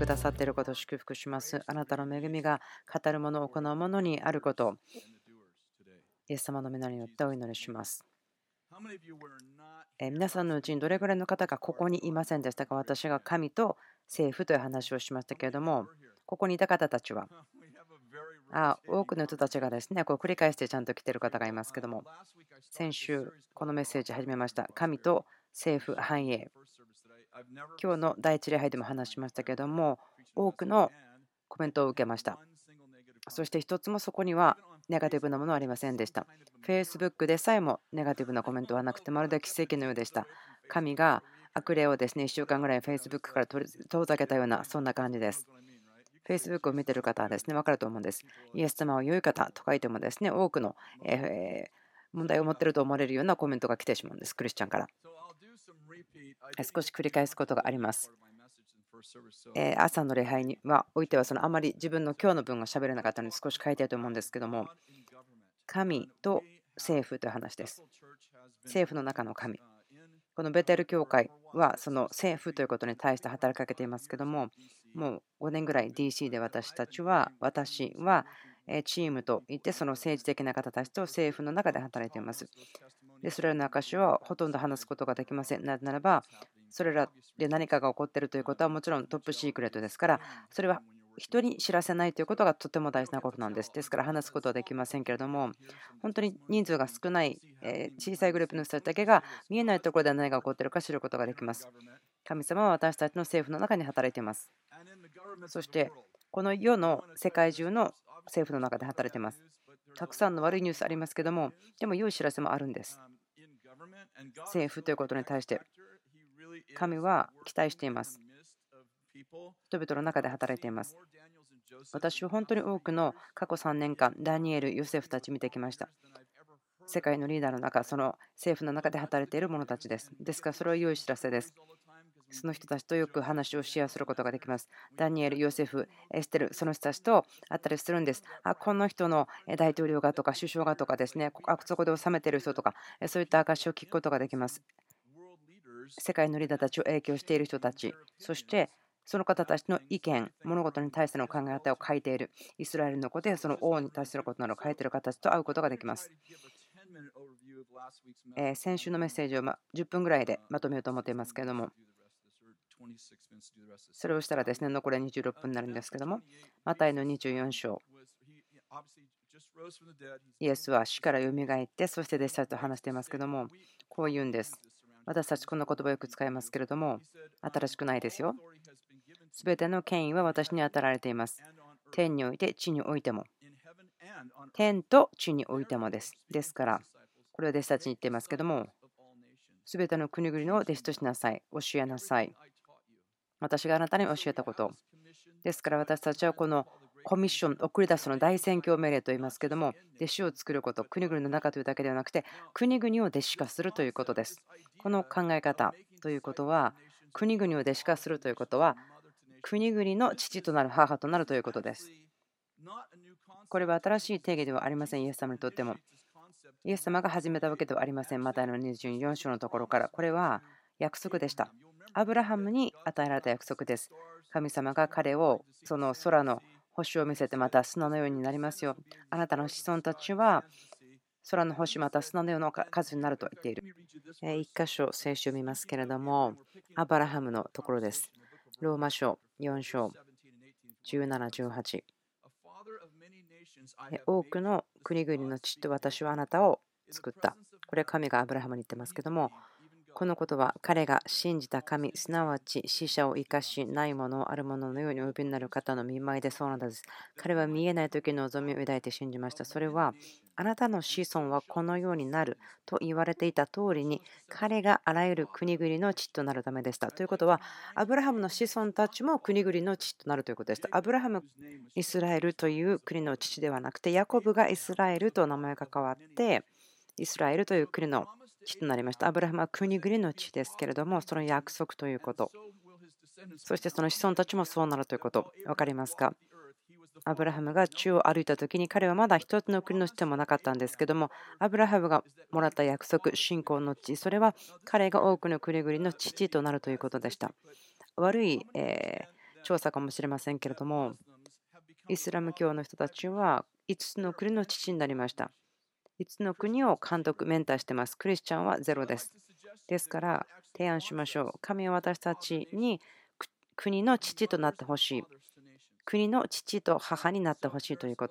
ださっていることを祝福します。あなたの恵みが語るもの、行うものにあることを、イエス様の皆によってお祈りします。皆さんのうちにどれぐらいの方がここにいませんでしたか？私が神と政府という話をしましたけれども、ここにいた方たちは、多くの人たちがですね、こう繰り返してちゃんと来ている方がいますけども、先週、このメッセージ始めました。神と政府繁栄。今日の第一礼拝でも話しましたけれども、多くのコメントを受けました。そして一つもそこにはネガティブなものはありませんでした。Facebook でさえもネガティブなコメントはなくて、まるで奇跡のようでした。神が悪霊をですね、1週間ぐらい Facebook から遠ざけたような、そんな感じです。Facebook を見ている方はですね、分かると思うんです。イエス様は良い方と書いてもですね、多くの問題を持っていると思われるようなコメントが来てしまうんです、クリスチャンから。少し繰り返すことがあります。朝の礼拝においてはあまり自分の今日の分が喋れなかったので少し変えたいと思うんですけども、神と政府という話です。政府の中の神。このベテル教会はその政府ということに対して働きかけていますけども、もう5年ぐらい DC で私はチームといってその政治的な方たちと政府の中で働いています。で、それらの証はほとんど話すことができません。なぜならば、それらで何かが起こっているということはもちろんトップシークレットですから、それは人に知らせないということがとても大事なことなんです。ですから話すことはできませんけれども、本当に人数が少ない、小さいグループの人たちだけが見えないところで何が起こっているか知ることができます。神様は私たちの政府の中に働いています。そして、この世の世界中の政府の中で働いています。たくさんの悪いニュースありますけども、でも良い知らせもあるんです。政府ということに対して、神は期待しています。人々の中で働いています。私は本当に多くの過去3年間、ダニエル、ヨセフたち見てきました。世界のリーダーの中、その政府の中で働いている者たちです。ですから、それは良い知らせです。その人たちとよく話をシェアすることができます。ダニエル、ヨセフ、エステル、その人たちと会ったりするんです。この人の大統領がとか首相がとかですね、そこで治めている人とか、そういった証を聞くことができます。世界のリーダーたちを影響している人たち、そしてその方たちの意見、物事に対しての考え方を書いている、イスラエルの子でその王に対することなどを書いている方たちと会うことができます。先週のメッセージを10分ぐらいでまとめようと思っていますけれども、それをしたらですね、残りは26分になるんですけども、マタイの24章、イエスは死からよみがえって、そして弟子たちと話していますけども、こう言うんです。私たちこの言葉をよく使いますけれども、新しくないですよ。すべての権威は私に与えられています。天において地においても。天と地においてもです。ですから、これは弟子たちに言っていますけども、すべての国々の弟子としなさい。教えなさい。私があなたに教えたこと。ですから私たちはこのコミッション、送り出すの大宣教命令と言いますけども、弟子を作ること、国々の中というだけではなくて、国々を弟子化するということです。この考え方ということは、国々を弟子化するということは、国々の父となる母となるということです。これは新しい定義ではありません、イエス様にとっても。イエス様が始めたわけではありません。マタイの24章のところから。これは約束でした。アブラハムに与えられた約束です。神様が彼をその空の星を見せて、また砂のようになりますよ。あなたの子孫たちは空の星また砂のような数になると言っている。一箇所聖書を見ますけれども、アブラハムのところです。ローマ書4章17、18。多くの国々の父と私はあなたを作った。これは神がアブラハムに言ってますけども、このことは彼が信じた神、すなわち死者を生かしないものをあるもののようにお呼びになる方の見舞いでそうなんです。彼は見えない時の望みを抱いて信じました。それはあなたの子孫はこのようになると言われていた通りに、彼があらゆる国々の父となるためでした。ということは、アブラハムの子孫たちも国々の父となるということでした。アブラハム、イスラエルという国の父ではなくて、ヤコブがイスラエルと名前が変わって、イスラエルという国の父となりました。アブラハムは国々の父ですけれども、その約束ということ、そしてその子孫たちもそうなるということ、分かりますか？アブラハムが地を歩いた時に彼はまだ一つの国の人でもなかったんですけども、アブラハムがもらった約束、信仰の地、それは彼が多くの国々の父となるということでした。悪い調査かもしれませんけれども、イスラム教の人たちは5つの国の父になりました。5つの国を監督、メンターしてます。クリスチャンはゼロです。ですから、提案しましょう。神は私たちに国の父となってほしい。国の父と母になってほしいということ。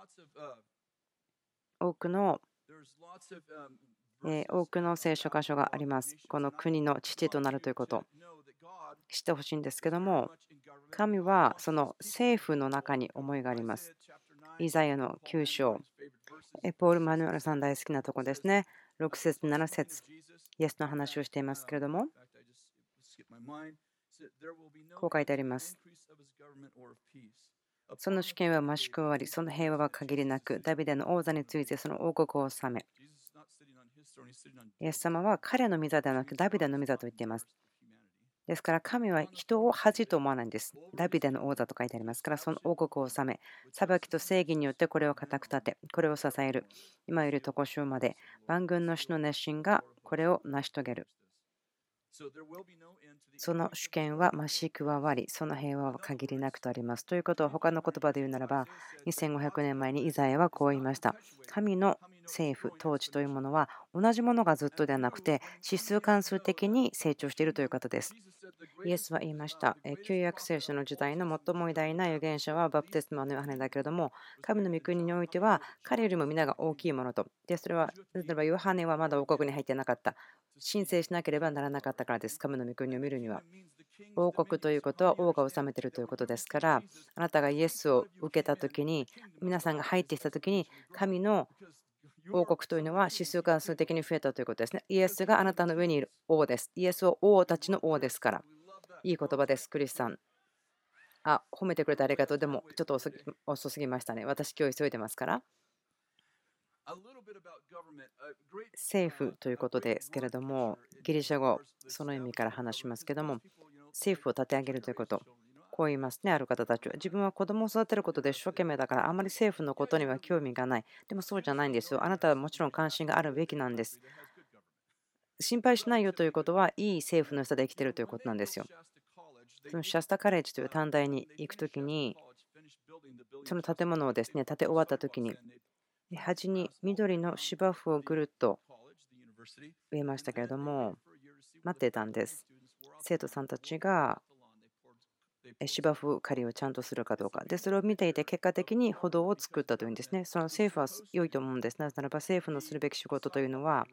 多くの聖書箇所があります。この国の父となるということ。知ってほしいんですけども、神はその政府の中に思いがあります。イザヤの9章、ポール・マヌエルさん大好きなところですね。6節、7節、イエスの話をしていますけれども、こう書いてあります。その主権は増し加わり、その平和は限りなく、ダビデの王座についてその王国を治め、イエス様は彼の御座ではなくダビデの御座と言っています。ですから神は人を恥と思わないんです。ダビデの王座と書いてありますから、その王国を治め、裁きと正義によってこれを固く立て、これを支える。今より常しゅうまで、万軍の主の熱心がこれを成し遂げる。その主権は増し加わり、その平和は限りなくとあります。ということを他の言葉で言うならば、2500年前にイザヤはこう言いました。神の政府、統治というものは同じものがずっとではなくて、指数関数的に成長しているということです。イエスは言いました。旧約聖書の時代の最も偉大な預言者はバプテスマのヨハネだけれども、神の御国においては彼よりも皆が大きいものと。で、それは、例えばヨハネはまだ王国に入ってなかった。申請しなければならなかったからです。神の御国を見るには。王国ということは王が治めているということですから、あなたがイエスを受けたときに、皆さんが入ってきたときに、神の王国というのは指数関数的に増えたということですね。イエスがあなたの上にいる王です。イエスは王たちの王ですから。いい言葉です、クリスさん。褒めてくれてありがとう。でも、ちょっと遅すぎましたね。私、今日急いでますから。政府ということですけれども、ギリシャ語、その意味から話しますけども、政府を立て上げるということ。こう言いますね、ある方たちは。自分は子供を育てることで一生懸命だから、あまり政府のことには興味がない。でもそうじゃないんですよ。あなたはもちろん関心があるべきなんです。心配しないよということは、いい政府の下で生きているということなんですよ。そのシャスタカレッジという短大に行くときに、その建物をですね、建て終わったときに、端に緑の芝生をぐるっと植えましたけれども、待っていたんです。生徒さんたちが芝生刈りをちゃんとするかどうか。で、それを見ていて、結果的に歩道を作ったというんですね。その政府は良いと思うんです。なぜならば、政府のするべき仕事というのは、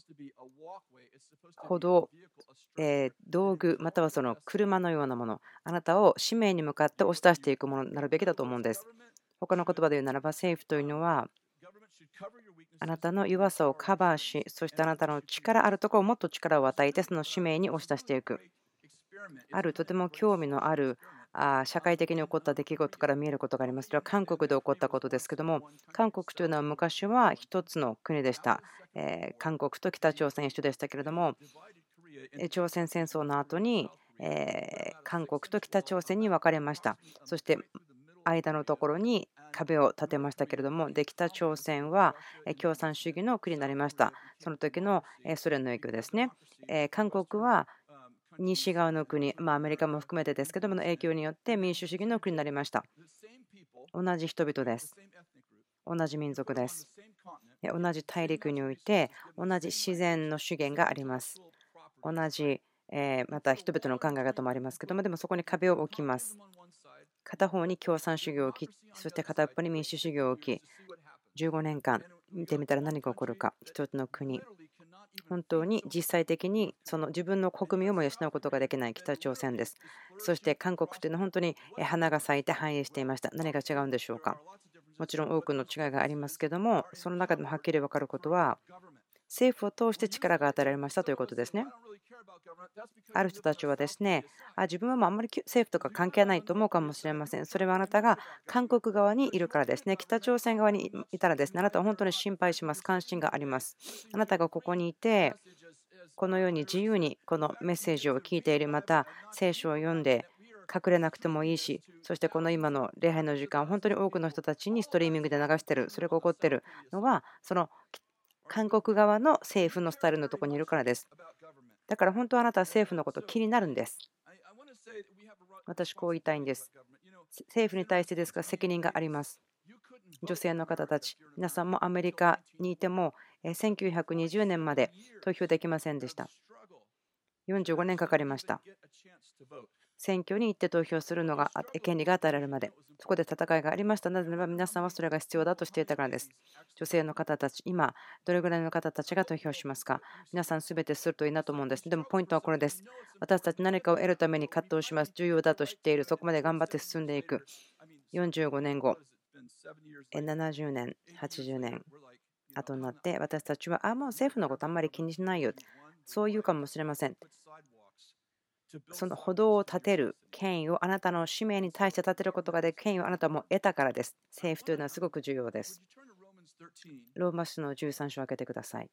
歩道、道具、またはその車のようなもの、あなたを使命に向かって押し出していくものになるべきだと思うんです。他の言葉で言うならば、政府というのは、あなたの弱さをカバーし、そしてあなたの力あるところをもっと力を与えて、その使命に押し出していく。あるとても興味のある社会的に起こった出来事から見えることがあります。それは韓国で起こったことですけども、韓国というのは昔は一つの国でした。韓国と北朝鮮一緒でしたけれども、朝鮮戦争の後に韓国と北朝鮮に分かれました。そして間のところに壁を建てましたけれども、で北朝鮮は共産主義の国になりました。その時のソ連の影響ですね。韓国は西側の国、アメリカも含めてですけども、の影響によって民主主義の国になりました。同じ人々です。同じ民族です。同じ大陸において、同じ自然の資源があります。同じ、また人々の考え方もありますけども、でもそこに壁を置きます。片方に共産主義を置き、そして片っぽに民主主義を置き、15年間見てみたら何が起こるか、一つの国。本当に実際的にその自分の国民をも養うことができない北朝鮮です。そして韓国というのは本当に花が咲いて繁栄していました。何が違うんでしょうか。もちろん多くの違いがありますけども、その中でもはっきり分かることは、政府を通して力が与えられましたということですね。ある人たちはですね、自分はもうあんまり政府とか関係ないと思うかもしれません。それはあなたが韓国側にいるからですね。北朝鮮側にいたらですね、あなたは本当に心配します。関心があります。あなたがここにいて、このように自由にこのメッセージを聞いている、また聖書を読んで隠れなくてもいいし、そしてこの今の礼拝の時間、本当に多くの人たちにストリーミングで流している、それが起こっているのは、その韓国側の政府のスタイルのところにいるからです。だから本当はあなたは政府のこと気になるんです。 私こう言いたいんです。政府に対してですが責任があります。女性の方たち、皆さんもアメリカにいても1920年まで投票できませんでした。45年かかりました。選挙に行って投票するのが権利が与えられるまで、そこで戦いがありました。なぜならば皆さんはそれが必要だとしていたからです。女性の方たち、今、どれぐらいの方たちが投票しますか？皆さんすべてするといいなと思うんです。でもポイントはこれです。私たち何かを得るために葛藤します。重要だと知っている。そこまで頑張って進んでいく。45年後、70年、80年後になって、私たちは、もう政府のことあんまり気にしないよ。そう言うかもしれません。その歩道を立てる権威をあなたの使命に対して立てることができる権威をあなたも得たからです。政府というのはすごく重要です。ローマ書の13章を開けてください。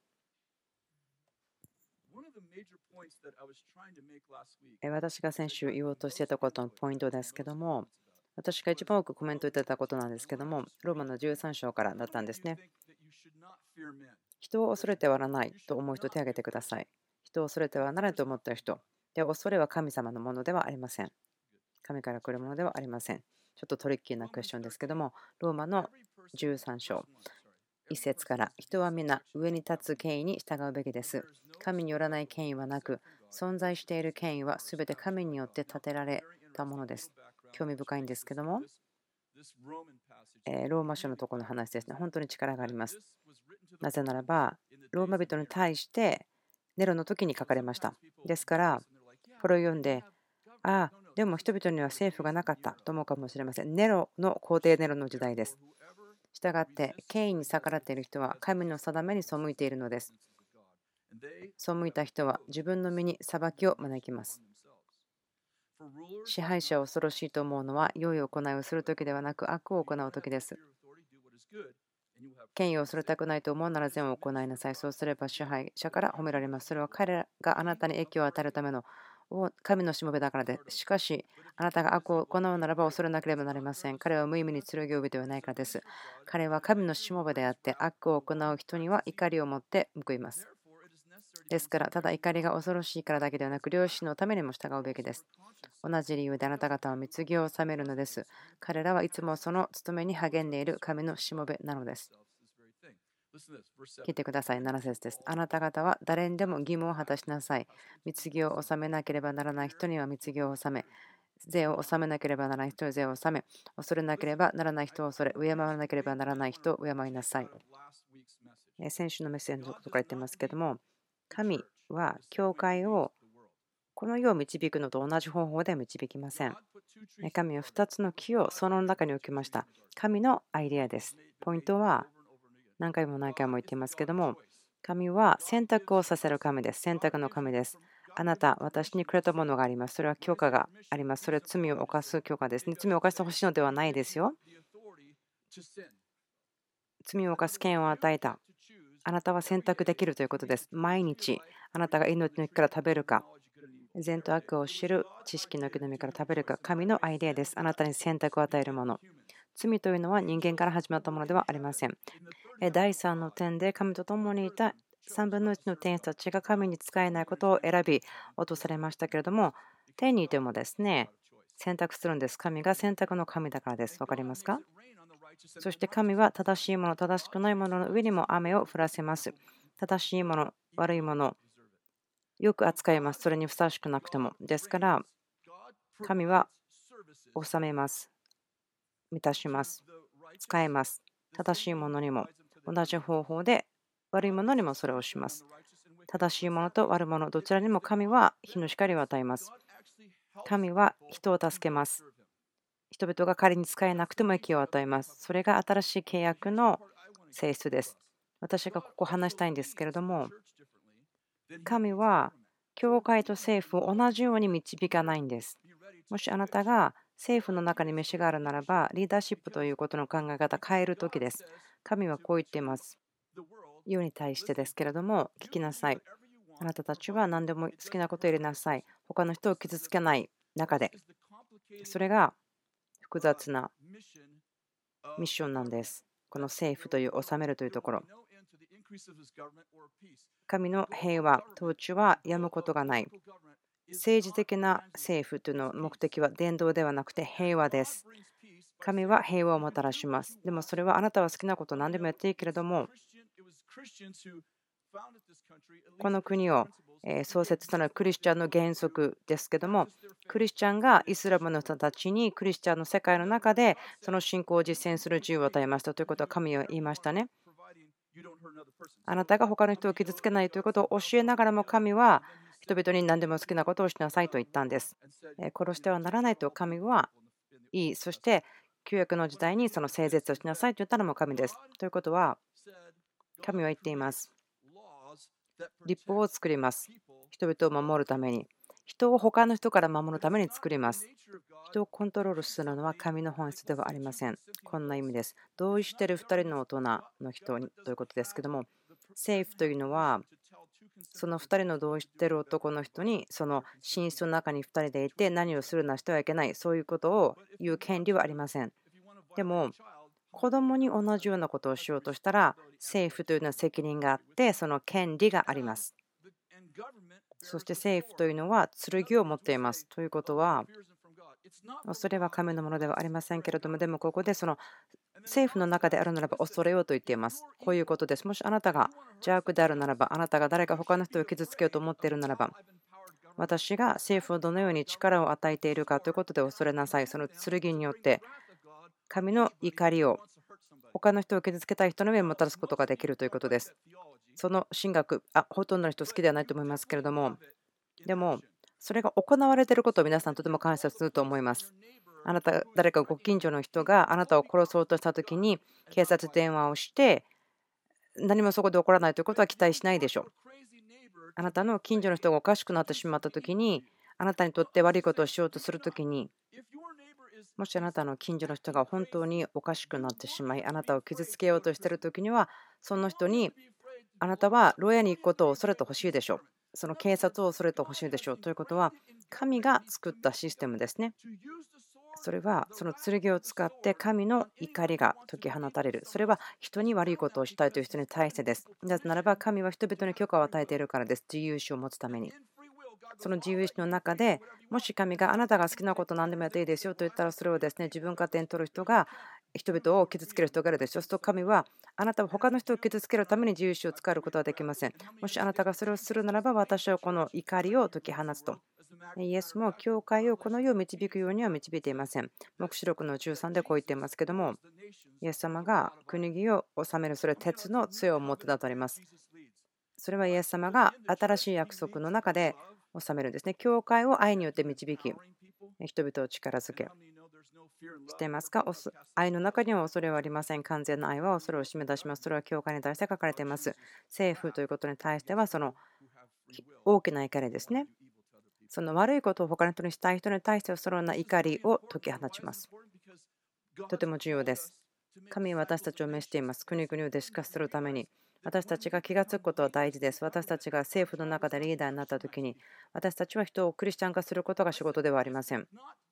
私が先週言おうとしていたことのポイントですけども、私が一番多くコメントをいただいたことなんですけども、ローマの13章からだったんですね。人を恐れてはならないと思う人、手を挙げてください。人を恐れてはならないと思った人。で、恐れは神様のものではありません。神から来るものではありません。ちょっとトリッキーなクエスチョンですけども、ローマの13章、1節から、人は皆上に立つ権威に従うべきです。神によらない権威はなく、存在している権威はすべて神によって立てられたものです。興味深いんですけども、ローマ書のところの話ですね。本当に力があります。なぜならば、ローマ人に対してネロの時に書かれました。ですから、これを読んで、でも人々には政府がなかったと思うかもしれません。ネロの皇帝ネロの時代です。したがって、権威に逆らっている人は神の定めに背いているのです。背いた人は自分の身に裁きを招きます。支配者を恐ろしいと思うのは、良い行いをするときではなく、悪を行うときです。権威を恐れたくないと思うなら善を行いなさい。そうすれば支配者から褒められます。それは彼らがあなたに益を与えるための神のしもべだからです。しかし、あなたが悪を行うならば恐れなければなりません。彼は無意味に剣を帯びてはないからです。彼は神のしもべであって、悪を行う人には怒りを持って報います。ですから、ただ怒りが恐ろしいからだけではなく、良心のためにも従うべきです。同じ理由であなた方は貢ぎを納めるのです。彼らはいつもその務めに励んでいる神のしもべなのです。聞いてください。7節です。あなた方は誰にでも義務を果たしなさい。貢ぎを納めなければならない人には貢ぎを納め、税を納めなければならない人に税を納め、恐れなければならない人を恐れ、敬わなければならない人を敬いなさい。先週のメッセージのところ言ってますけども、神は教会をこの世を導くのと同じ方法で導きません。神は2つの木をその中に置きました。神のアイデアです。ポイントは何回も何回も言っていますけども、神は選択をさせる神です。選択の神です。あなた、私にくれたものがあります。それは許可があります。それは罪を犯す許可ですね。罪を犯してほしいのではないですよ。罪を犯す権を与えた。あなたは選択できるということです。毎日、あなたが命の木から食べるか、善と悪を知る知識の木の実から食べるか、神のアイデアです。あなたに選択を与えるもの。罪というのは人間から始まったものではありません。第3の点で神と共にいた3分の1の天使たちが神に仕えないことを選び落とされましたけれども、天にいてもですね、選択するんです。神が選択の神だからです。わかりますか？そして神は正しいもの、正しくないものの上にも雨を降らせます。正しいもの、悪いもの、よく扱います。それにふさわしくなくても。ですから、神は治めます。満たします。使えます。正しいものにも同じ方法で悪いものにもそれをします。正しいものと悪いもの、どちらにも神は日の光を与えます。神は人を助けます。人々が彼に使えなくても益を与えます。それが新しい契約の性質です。私がここ話したいんですけれども、神は教会と政府を同じように導かないんです。もしあなたが政府の中に飯があるならば、リーダーシップということの考え方を変えるときです。神はこう言っています。世に対してですけれども、聞きなさい。あなたたちは何でも好きなことを入れなさい。他の人を傷つけない中で。それが複雑なミッションなんです。この政府という治めるというところ。神の平和、統治はやむことがない。 政治的な政府というの目的は伝道ではなくて平和です。神は平和をもたらします。でもそれはあなたは好きなこと何でもやっていいけれども、この国を創設したのはクリスチャンの原則ですけども、クリスチャンがイスラムの人たちにクリスチャンの世界の中でその信仰を実践する自由を与えましたということは神は言いましたね。あなたが他の人を傷つけないということを教えながらも神は人々に何でも好きなことをしなさいと言ったんです。殺してはならないと神はいい。そして旧約の時代にその聖絶をしなさいと言ったのも神です。ということは神は言っています。立法を作ります。人々を守るために。人を他の人から守るために作ります。人をコントロールするのは神の本質ではありません。こんな意味です。同意している2人の大人の人にということですけども、政府というのは、その2人の同意している男の人に、その寝室の中に2人でいて、何をするなしてはいけない、そういうことを言う権利はありません。でも、子供に同じようなことをしようとしたら、政府というのは責任があって、その権利があります。そして政府というのは剣を持っています。ということは、それは神のものではありませんけれども、でもここでその政府の中であるならば恐れようと言っています。こういうことです。もしあなたが邪悪であるならば、あなたが誰か他の人を傷つけようと思っているならば、私が政府をどのように力を与えているかということで恐れなさい。その剣によって神の怒りを他の人を傷つけたい人の上にもたらすことができるということです。その神学、ほとんどの人好きではないと思いますけれども、でもそれが行われていることを皆さんとても感謝すると思います。あなた、誰かご近所の人があなたを殺そうとしたときに警察電話をして何もそこで起こらないということは期待しないでしょう。あなたの近所の人がおかしくなってしまったときに、あなたにとって悪いことをしようとするときに、もしあなたの近所の人が本当におかしくなってしまい、あなたを傷つけようとしているときには、その人に、あなたは牢屋に行くことを恐れてほしいでしょう。その警察を恐れてほしいでしょう。ということは、神が作ったシステムですね。それはその剣を使って神の怒りが解き放たれる。それは人に悪いことをしたいという人に対してです。なぜならば神は人々に許可を与えているからです。自由意志を持つために。その自由意志の中で、もし神があなたが好きなこと何でもやっていいですよと言ったら、それをですね、自分勝手に取る人が、人々を傷つける人がいるでしょう。そうすると神は、あなたは他の人を傷つけるために自由意志を使えることはできません。もしあなたがそれをするならば、私はこの怒りを解き放つと。イエスも教会をこの世を導くようには導いていません。黙示録の13でこう言っていますけども、イエス様が国々を治める、それは鉄の杖を持ってだとあります。それはイエス様が新しい約束の中で治めるんですね。教会を愛によって導き、人々を力づけしていますか。愛の中には恐れはありません。完全な愛は恐れを締め出します。それは教会に対して書かれています。政府ということに対しては、その大きな怒りですね。その悪いことを他の人にしたい人に対しては、そのような怒りを解き放ちます。とても重要です。神は私たちを召しています。国々を弟子化するために。私たちが気がつくことは大事です。私たちが政府の中でリーダーになったときに、私たちは人をクリスチャン化することが仕事ではありません。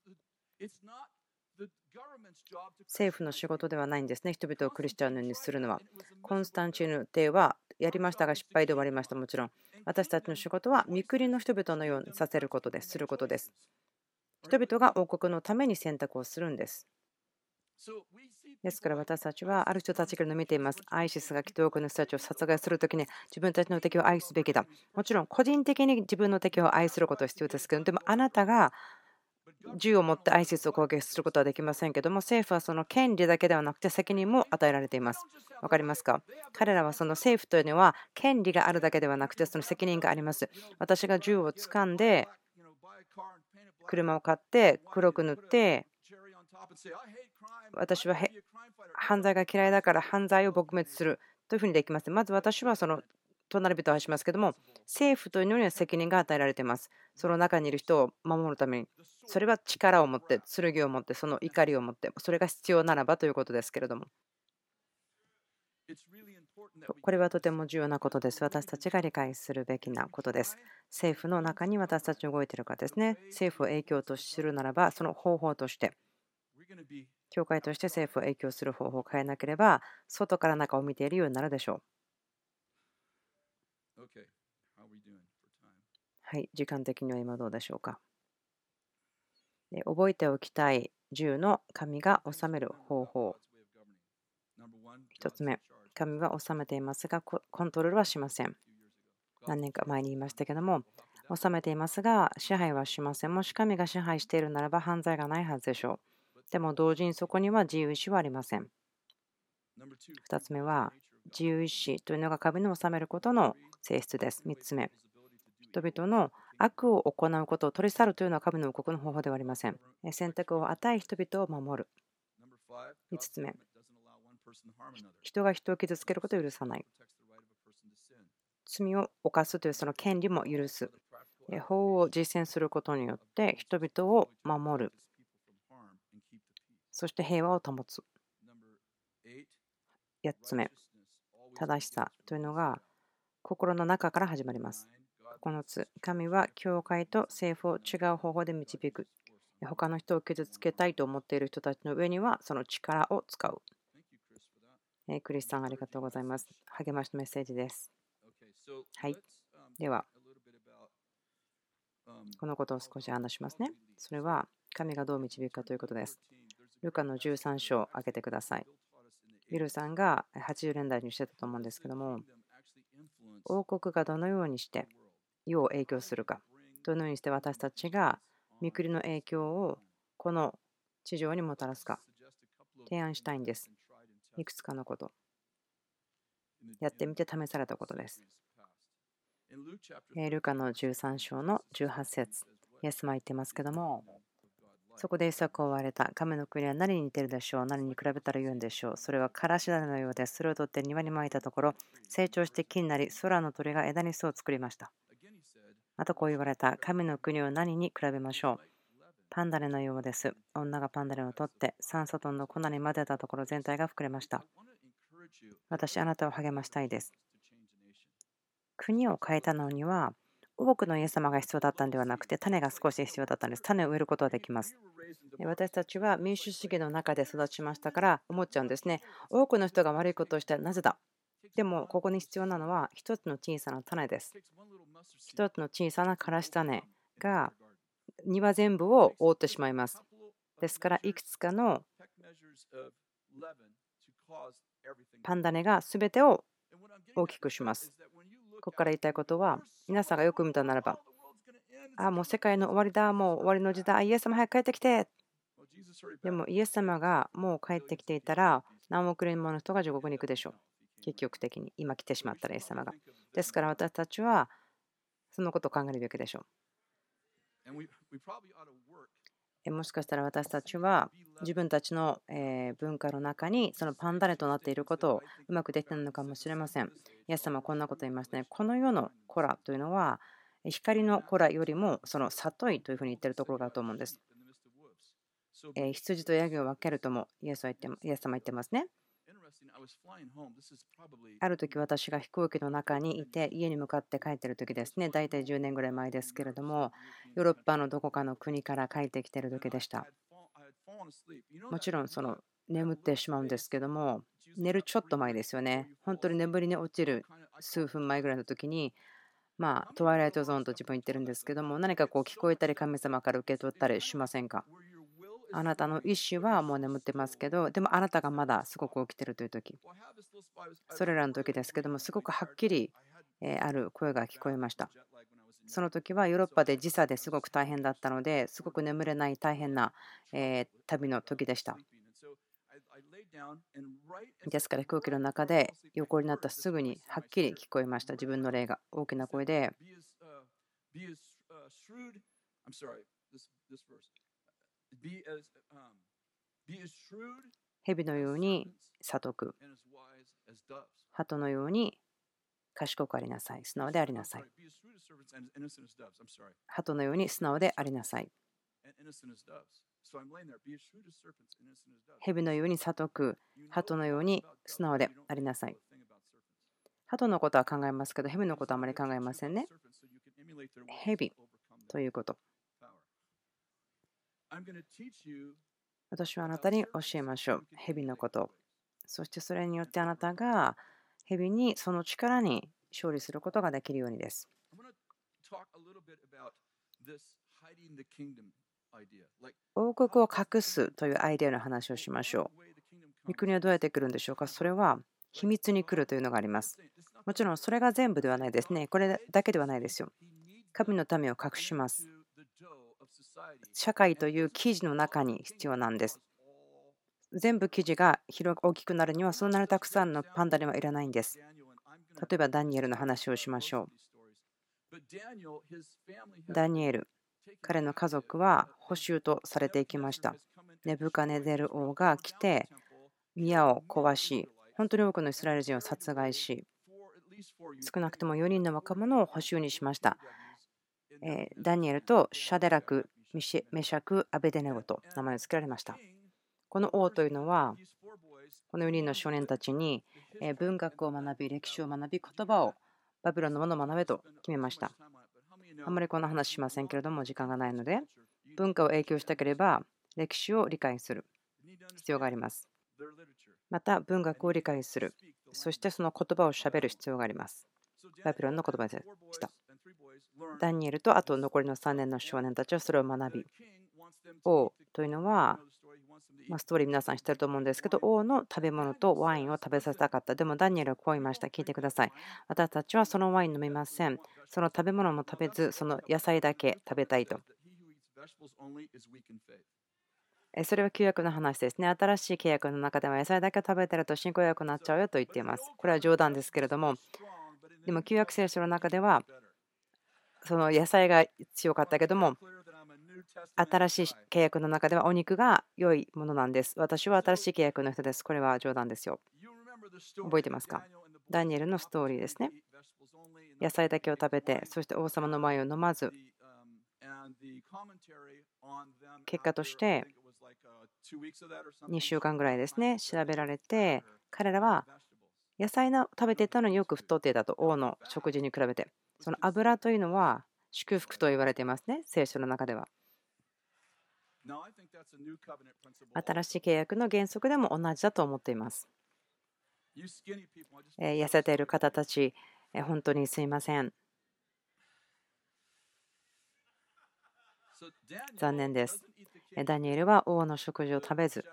政府の仕事ではないんですね。人々をクリスチャンにするのは。コンスタンチヌ帝はやりましたが失敗で終わりました。もちろん。私たちの仕事は御国の人々のようにさせることです。することです。人々が王国のために選択をするんです。ですから私たちはある人たちからの見ています。アイシスが多くの人たちを殺害するときに自分たちの敵を愛すべきだ。もちろん個人的に自分の敵を愛することは必要ですけど、でもあなたが銃を持ってアイシスを攻撃することはできませんけども、政府はその権利だけではなくて責任も与えられています。わかりますか？彼らはその政府というのは権利があるだけではなくてその責任があります。私が銃を掴んで車を買って黒く塗って私は犯罪が嫌いだから犯罪を撲滅するというふうにできます。まず私はその隣人を愛しますけども、政府というのには責任が与えられています。その中にいる人を守るために、それは力を持って、剣を持って、その怒りを持って、それが必要ならばということですけれども、これはとても重要なことです。私たちが理解するべきなことです。政府の中に私たちが動いているかですね。政府を影響とするならば、その方法として、教会として政府を影響する方法を変えなければ、外から中を見ているようになるでしょう。 はい、時間的には今どうでしょうか。覚えておきたい10の神が治める方法。1つ目、神は治めていますが、コントロールはしません。何年か前に言いましたけども、治めていますが、支配はしません。もし神が支配しているならば犯罪がないはずでしょう。でも同時にそこには自由意志はありません。2つ目は、自由意志というのが神の治めることの性質です。3つ目、人々の悪を行うことを取り去るというのは神の王国の方法ではありません。選択を与え人々を守る。5つ目、人が人を傷つけることを許さない。罪を犯すというその権利も許す。法を実践することによって人々を守る。そして平和を保つ。8つ目、正しさというのが心の中から始まります。9つ、神は教会と政府を違う方法で導く。他の人を傷つけたいと思っている人たちの上にはその力を使う。クリスさん、ありがとうございます。励ましのメッセージです。はい。では、このことを少し話しますね。それは、神がどう導くかということです。ルカの13章を開けてください。ビルさんが80年代にしてたと思うんですけども、王国がどのようにして世を影響するか、どのようにして私たちが御国の影響をこの地上にもたらすか、提案したいんです。いくつかのこと、やってみて試されたことです。ルカの13章の18節、イエスも言ってますけども、そこでイサクを追われた。神の国は何に似てるでしょう。何に比べたら言うんでしょう。それはからし種のようです。それを取って庭に撒いたところ、成長して木になり、空の鳥が枝に巣を作りました。またこう言われた。神の国を何に比べましょう。パンダネのようです。女がパンダネを取って酸素トンの粉に混ぜたところ全体が膨れました。私、あなたを励ましたいです。国を変えたのには、多くのイエス様が必要だったんではなくて、種が少し必要だったんです。種を植えることはできます。私たちは民主主義の中で育ちましたから思っちゃうんですね。多くの人が悪いことをしたらなぜだ。でも、ここに必要なのは一つの小さな種です。一つの小さなからし種が庭全部を覆ってしまいます。ですから、いくつかのパンダネが全てを大きくします。ここから言いたいことは、皆さんがよく見たならば、もう世界の終わりだ、もう終わりの時代、イエス様早く帰ってきて。でも、イエス様がもう帰ってきていたら、何億人もの人が地獄に行くでしょう。結局的に、今来てしまったらイエス様が。ですから私たちは、そのことを考えるべきでしょう。もしかしたら私たちは自分たちの文化の中にそのパンダネとなっていることをうまくできているのかもしれません。イエス様はこんなこと言いましたね。この世の子らというのは光の子らよりもその里いというふうに言っているところがあると思うんです。羊とヤギを分けるともイエス様は言ってますね。ある時私が飛行機の中にいて家に向かって帰っている時ですね。大体10年ぐらい前ですけれども、ヨーロッパのどこかの国から帰ってきている時でした。もちろん眠ってしまうんですけども、寝るちょっと前ですよね。本当に眠りに落ちる数分前ぐらいの時に、トワイライトゾーンと自分言ってるんですけども、何かこう聞こえたり神様から受け取ったりしませんか？あなたの意思はもう眠ってますけど、でもあなたがまだすごく起きてるという時、それらの時ですけども、すごくはっきりある声が聞こえました。その時はヨーロッパで時差ですごく大変だったので、すごく眠れない大変な旅の時でした。ですから飛行機の中で横になったすぐにはっきり聞こえました。自分の霊が大きな声で、蛇のように悟く、鳩のように賢くありなさい。素直でありなさい。鳩のように素直でありなさい。蛇のように悟く、鳩のように素直でありなさい。鳩のことは考えますけど、蛇のことはあまり考えませんね。蛇ということ。私はあなたに教えましょう。蛇のこと。そしてそれによってあなたが蛇にその力に勝利することができるようにです。 王国を隠すというアイデアの話をしましょう。御国はどうやって来るんでしょうか。それは秘密に来るというのがあります。もちろんそれが全部ではないですね。これだけではないですよ。神の民を隠します。社会という記事の中に必要なんです。全部記事が大きくなるにはそんなにたくさんのパンダにはいらないんです。例えばダニエルの話をしましょう。ダニエル、彼の家族は捕囚とされていきました。ネブカネゼル王が来て宮を壊し、本当に多くのイスラエル人を殺害し、少なくとも4人の若者を捕囚にしました。ダニエルとシャデラク、メシャク、アベデネゴと名前を付けられました。この王というのは、この4人の少年たちに文学を学び、歴史を学び、言葉をバビロンのものを学べと決めました。あんまりこんな話しませんけれども、時間がないので、文化を影響したければ、歴史を理解する必要があります。また、文学を理解する。そしてその言葉をしゃべる必要があります。バビロンの言葉でした。ダニエルとあと残りの3年の少年たちはそれを学び、王というのは、ストーリー皆さん知ってると思うんですけど、王の食べ物とワインを食べさせたかった。でもダニエルはこう言いました。聞いてください。私たちはそのワイン飲みません。その食べ物も食べず、その野菜だけ食べたいと。それは旧約の話ですね。新しい契約の中では野菜だけ食べてると信仰弱くなっちゃうよと言っています。これは冗談ですけれども、でも旧約聖書の中では、その野菜が強かったけども、新しい契約の中ではお肉が良いものなんです。私は新しい契約の人です。これは冗談ですよ。覚えてますか？ダニエルのストーリーですね。野菜だけを食べて、そして王様のワインを飲まず、結果として2週間ぐらいですね、調べられて、彼らは野菜を食べていたのによく太っていたと、王の食事に比べて。その油というのは祝福と言われていますね、聖書の中では。新しい契約の原則でも同じだと思っています。痩せている方たち、本当にすいません。残念です。ダニエルは王の食事を食べず、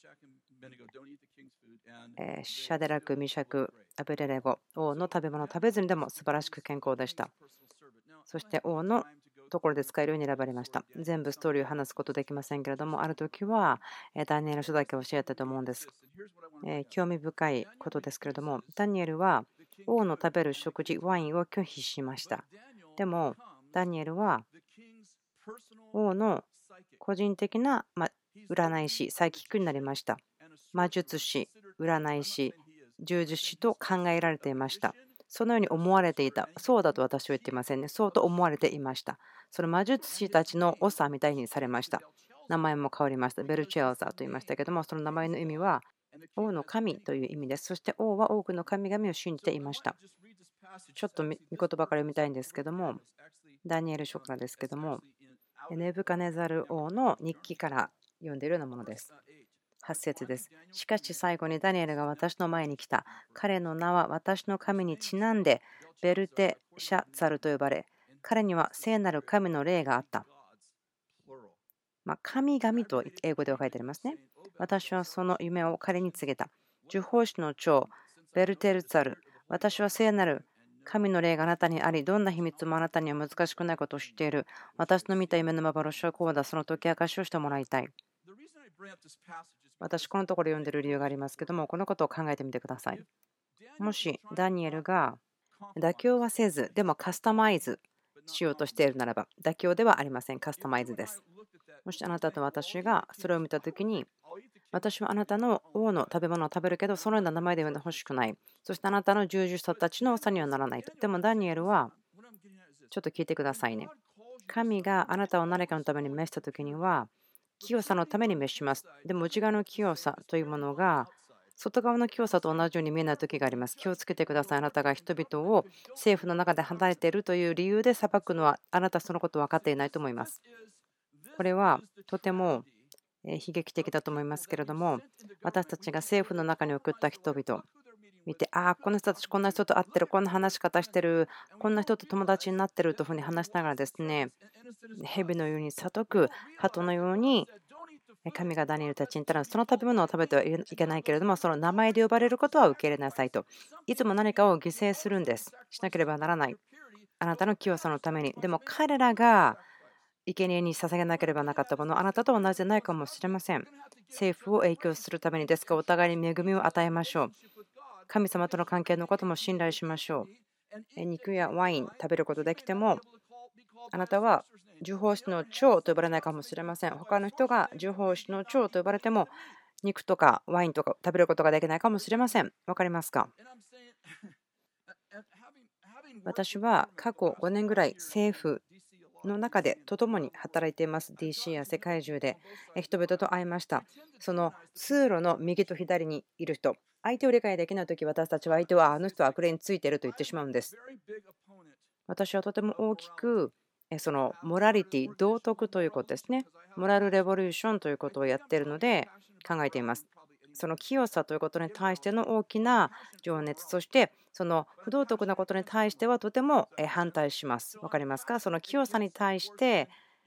シャデラク、ミシャク、アベレレゴ、王の食べ物を食べずにでも素晴らしく健康でした。そして王のところで使えるように選ばれました。全部ストーリーを話すことできませんけれども、ある時はダニエル書だけ教えたと思うんです。興味深いことですけれども、ダニエルは王の食べる食事、ワインを拒否しました。でも、ダニエルは王の個人的な占い師、サイキックになりました。魔術師、占い師、柔術師と考えられていました。そのように思われていた。そうだと私は言っていませんね。そうと思われていました。その魔術師たちの長みたいにされました。名前も変わりました。ベルチェルザーと言いましたけども、その名前の意味は王の神という意味です。そして王は多くの神々を信じていました。ちょっと御言葉から読みたいんですけども、ダニエル書からですけども、ネブカネザル王の日記から読んでいるようなものです。8節です。しかし最後にダニエルが私の前に来た。彼の名は私の神にちなんでベルテシャツァルと呼ばれ、彼には聖なる神の霊があった。神々と英語では書いてありますね。私はその夢を彼に告げた。受法師の長、ベルテルツァル、私は聖なる神の霊があなたにあり、どんな秘密もあなたには難しくないことを知っている。私の見た夢の幻はこうだ。その解き明かしをしてもらいたい。私、このところ読んでいる理由がありますけども、このことを考えてみてください。もしダニエルが妥協はせず、でもカスタマイズしようとしているならば、妥協ではありません。カスタマイズです。もしあなたと私がそれを見たときに、私はあなたの王の食べ物を食べるけど、そのような名前で呼んでほしくない。そしてあなたの従順者たちの長にはならないと。でもダニエルは、ちょっと聞いてくださいね。神があなたを何かのために召したときには、清さのために召します。でも内側の清さというものが、外側の清さと同じように見えない時があります。気をつけてください。あなたが人々を政府の中で離れているという理由で裁くのは、あなたそのこと分かっていないと思います。これはとても悲劇的だと思いますけれども、私たちが政府の中に送った人々、 見て、ああ、この人たちこんな人と会ってる、こんな話し方してる、こんな人と友達になってるというふうに話しながらですね、蛇のように悟く、鳩のように神がダニエルたちに言ったら、その食べ物を食べてはいけないけれども、その名前で呼ばれることは受け入れなさいと。いつも何かを犠牲するんです。しなければならない。あなたの清さのために。でも彼らが生贄に捧げなければなかったもの、あなたと同じでないかもしれません。政府を影響するためにですが、お互いに恵みを与えましょう。神様との関係のことも信頼しましょう。肉やワイン食べることできても、あなたは重奉仕の長と呼ばれないかもしれません。他の人が重奉仕の長と呼ばれても、肉とかワインとか食べることができないかもしれません。わかりますか？私は過去5年ぐらい政府の中でともに働いています。DC や世界中で人々と会いました。その通路の右と左にいる人、相手を理解できないとき、私たちは相手はあの人は悪霊についていると言ってしまうんです。私はとても大きくそのモラリティ、道徳ということですね。モラルレボリューションということをやっているので考えています。その清さということに対しての大きな情熱、そしてその不道徳なことに対してはとても反対します。わかりますか？その清さに対して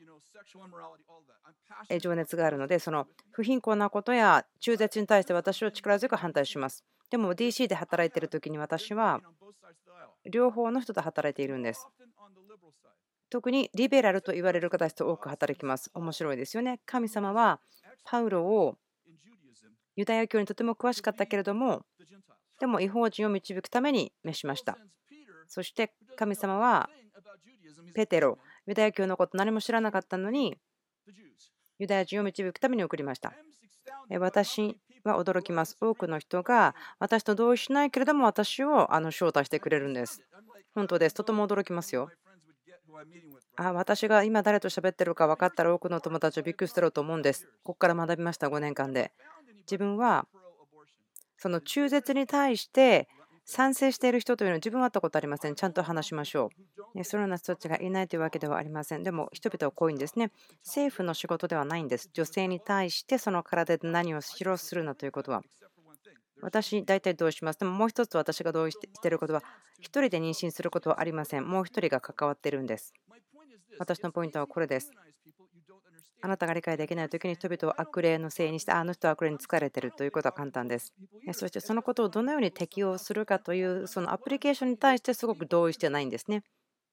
情熱があるので、その不貧困なことや中絶に対して私は力強く反対します。でも DC で働いている時に私は両方の人と働いているんです。特にリベラルと言われる方たちと多く働きます。面白いですよね。神様はパウロをユダヤ教にとても詳しかったけれども、でも違法人を導くために召しました。そして神様はペテロ、ユダヤ教のこと何も知らなかったのに、ユダヤ人を導くために送りました。私は驚きます。多くの人が私と同意しないけれども、私を招待してくれるんです。本当です。とても驚きますよ。私が今誰と喋ってるか分かったら多くの友達はびっくりすると思うんです。ここから学びました、5年間で。自分はその中絶に対して賛成している人というのは自分は会ったことありません。ちゃんと話しましょう。そのような人たちがいないというわけではありません。でも人々はこういうんですね。政府の仕事ではないんです。女性に対してその体で何を披露するなということは。私、大体同意します。でももう一つ私が同意していることは、一人で妊娠することはありません。もう一人が関わっているんです。私のポイントはこれです。あなたが理解できないときに人々を悪霊のせいにして、あの人は悪霊に疲れているということは簡単です。そしてそのことをどのように適用するかというそのアプリケーションに対してすごく同意してないんですね。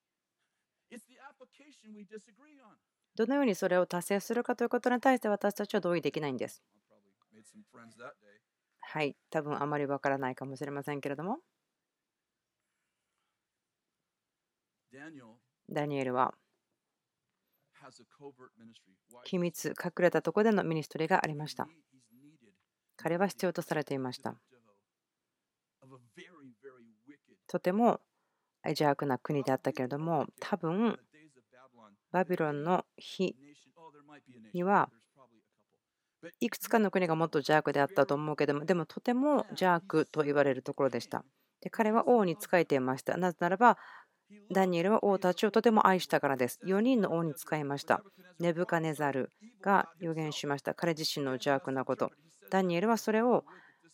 どのようにそれを達成するかということに対して私たちは同意できないんです。はい、多分あまりわからないかもしれませんけれども、ダニエルは秘密、隠れたところでのミニストリーがありました。彼は必要とされていました。とても邪悪な国であったけれども、多分バビロンの日にはいくつかの国がもっと邪悪であったと思うけども、でもとても邪悪と言われるところでした。で、彼は王に仕えていました。なぜならば、ダニエルは王たちをとても愛したからです。4人の王に仕えました。ネブカネザルが予言しました。彼自身の邪悪なこと。ダニエルはそれを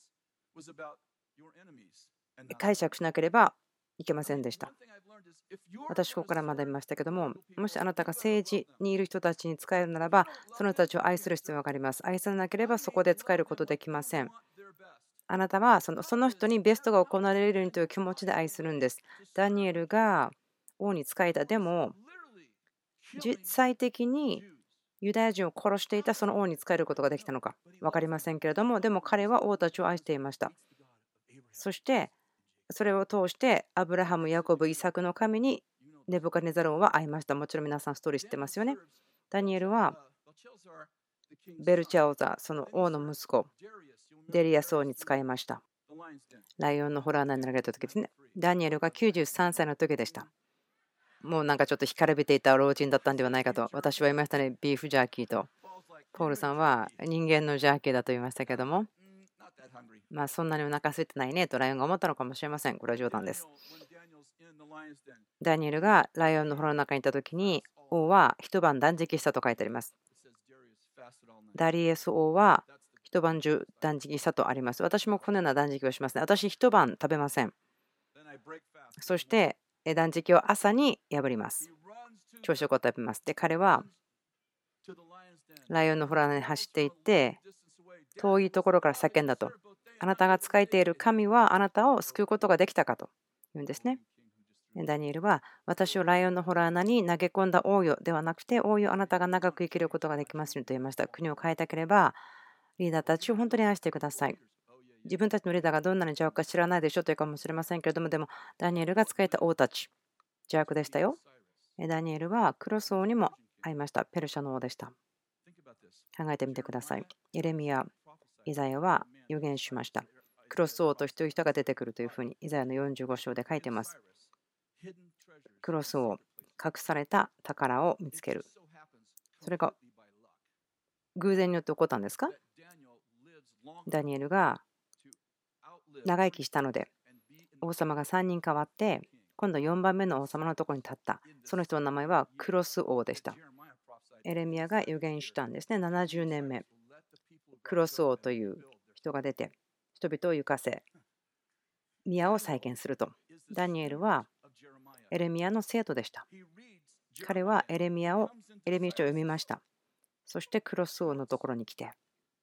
解釈しなければいけませんでした。私、ここから学びましたけども、もしあなたが政治にいる人たちに使えるならば、その人たちを愛する必要があります。愛さなければそこで使えることできません。あなたはその人にベストが行われるようにという気持ちで愛するんです。ダニエルが王に仕えた。でも、実際的にユダヤ人を殺していたその王に仕えることができたのか分かりませんけれども、でも彼は王たちを愛していました。そしてそれを通してアブラハム、ヤコブ、イサクの神にネブカネザル王は会いました。もちろん皆さんストーリー知ってますよね。ダニエルはベルチャオザ、その王の息子、デリアス王に仕えました。ライオンのホラー穴に投げられた時ですね。ダニエルが93歳の時でした。もうなんかちょっと干からびていた老人だったんではないかと私は言いましたね。ビーフジャーキーと。ポールさんは人間のジャーキーだと言いましたけども、そんなにお腹空いてないねとライオンが思ったのかもしれません。これは冗談です。ダニエルがライオンの洞の中にいた時に王は一晩断食したと書いてあります。ダリエス王は一晩中断食したとあります。私もこのような断食をしますね。私、一晩食べません。そして、断食を朝に破ります。朝食を食べます。で、彼はライオンの洞穴に走っていって、遠いところから叫んだと。あなたが仕えている神はあなたを救うことができたかと言うんですね。ダニエルは私をライオンの洞穴に投げ込んだ王よではなくて、王よあなたが長く生きることができますよと言いました。国を変えたければ、リーダーたちを本当に愛してください。自分たちのリーダーがどんなに邪悪か知らないでしょというかもしれませんけれども、でもダニエルが仕えた王たち、邪悪でしたよ。ダニエルはクロス王にも会いました。ペルシャの王でした。考えてみてください。エレミヤ、イザヤは予言しました。クロス王と一人人が出てくるというふうに、イザヤの45章で書いています。クロス王、隠された宝を見つける。それが偶然によって起こったんですか？ダニエルが長生きしたので、王様が3人変わって、今度4番目の王様のところに立った。その人の名前はクロス王でした。エレミヤが預言したんですね。70年目。クロス王という人が出て、人々を行かせ、宮を再建すると。ダニエルはエレミヤの生徒でした。彼はエレミヤ書を読みました。そしてクロス王のところに来て、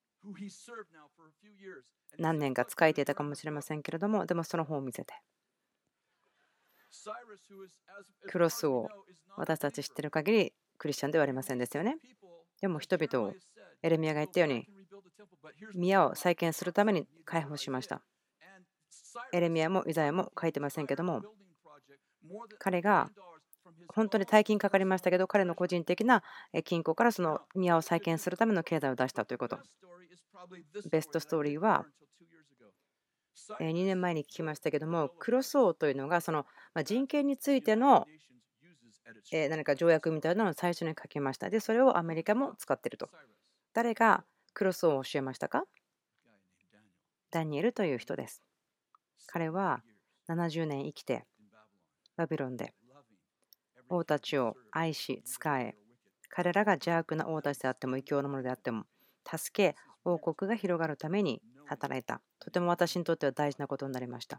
何年か仕えていたかもしれませんけれども、でもその本を見せて、クロス王、私たち知っている限りクリスチャンではありませんですよね。でも人々をエレミヤが言ったように、宮を再建するために解放しました。エレミヤもイザヤも書いてませんけども、彼が本当に大金かかりましたけど、彼の個人的な金庫からその宮を再建するための経済を出したということ。ベストストーリーは2年前に聞きましたけども、クロス王というのがその人権についての何か条約みたいなのを最初に書きました。で、それをアメリカも使っていると。誰がクロス王を教えましたか？ダニエルという人です。彼は70年生きて、バビロンで王たちを愛し、仕え、彼らが邪悪な王たちであっても、異教のものであっても、助け、王国が広がるために働いた。とても私にとっては大事なことになりました。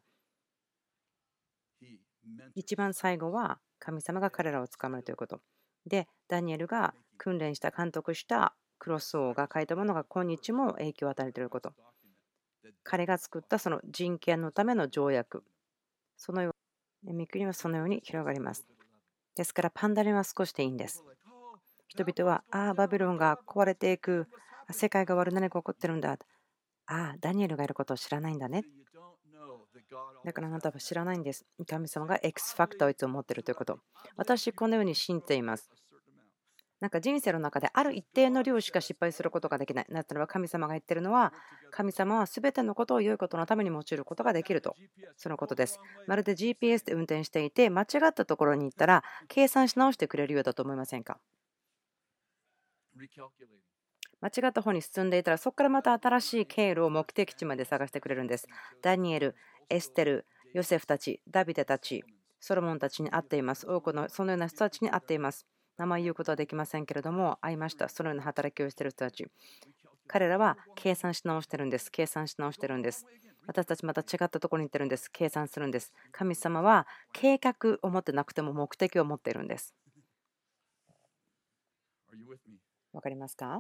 一番最後は神様が彼らを捕まえるということ。で、ダニエルが訓練した、監督したクロス王が書いたものが今日も影響を与えていること。彼が作ったその人権のための条約。そのように、御国はそのように広がります。ですから、パンダリンは少しでいいんです。人々は、バビロンが壊れていく、世界が終わる、何が起こってるんだ。ダニエルがいることを知らないんだね。だからあなたは知らないんです。神様が X ファクターをいつも持っているということ。私、このように信じています。なんか人生の中である一定の量しか失敗することができない。なったらば神様が言ってるのは、神様は全てのことを良いことのために用いることができると。そのことです。まるで GPS で運転していて、間違ったところに行ったら、計算し直してくれるようだと思いませんか？間違った方に進んでいたら、そこからまた新しい経路を目的地まで探してくれるんです。ダニエル、エステル、ヨセフたち、ダビデたち、ソロモンたちに会っています。多くのそのような人たちに会っています。名前言うことはできませんけれども、会いました。そのような働きをしている人たち。彼らは計算し直してるんです。計算し直してるんです。私たちまた違ったところに行ってるんです。計算するんです。神様は計画を持ってなくても目的を持っているんです。わかりますか？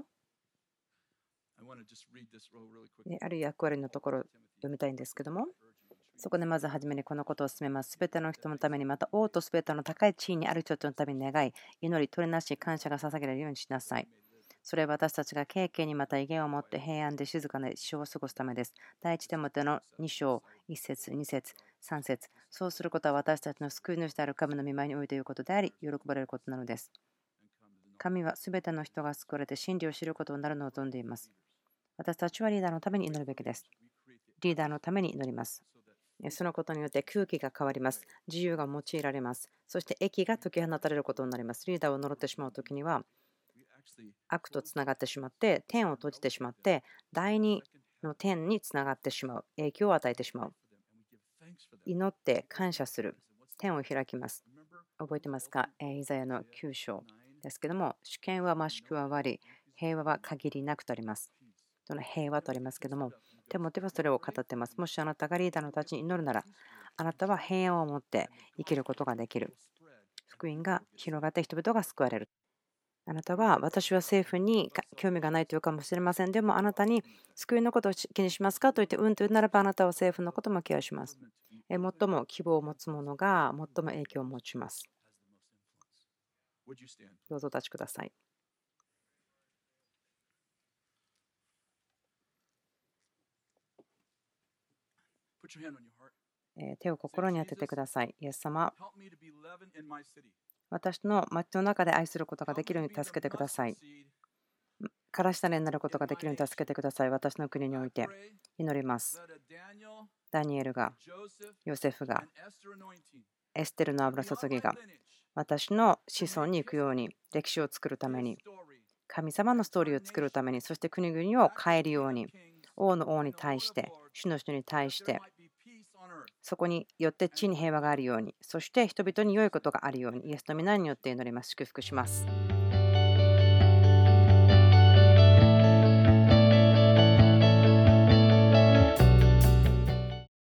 ある役割のところを読みたいんですけども、そこでまず初めにこのことを進めます。すべての人のために、また王とすべての高い地位にある人たちのために願い、祈り、取りなし、感謝が捧げられるようにしなさい。それは私たちが経験にまた威厳を持って平安で静かな一生を過ごすためです。第一テモテの2章、1節、2節、3節。そうすることは私たちの救い主である神の御前においていることであり、喜ばれることなのです。神はすべての人が救われて真理を知ることになるのを望んでいます。私たちはリーダーのために祈るべきです。リーダーのために祈ります。そのことによって空気が変わります。自由が用いられます。そして益が解き放たれることになります。リーダーを呪ってしまうときには、悪とつながってしまって、天を閉じてしまって、第二の天につながってしまう。影響を与えてしまう。祈って感謝する。天を開きます。覚えてますか？イザヤの9章ですけども、主権は増し加わり、平和は限りなくとあります。 その平和とありますけども、テモテはそれを語っています。もしあなたがリーダーのたちに祈るなら、あなたは平安を持って生きることができる。福音が広がって人々が救われる。あなたは私は政府に興味がないというかもしれません。でもあなたに救いのことを気にしますかと言って、うんと言うならばあなたは政府のことも気がします。最も希望を持つ者が最も影響を持ちます。どうぞお立ちください。手を心に当ててください。イエス様、私の町の中で愛することができるように助けてください。からし種になることができるように助けてください。私の国において祈ります。ダニエルが、ヨセフが、エステルの油注ぎが、私の子孫に行くように歴史を作るために、神様のストーリーを作るために、そして国々を変えるように、王の王に対して、主の人に対して、そこによって地に平和があるように、そして人々に良いことがあるように、イエスの皆によって祈ります。祝福します。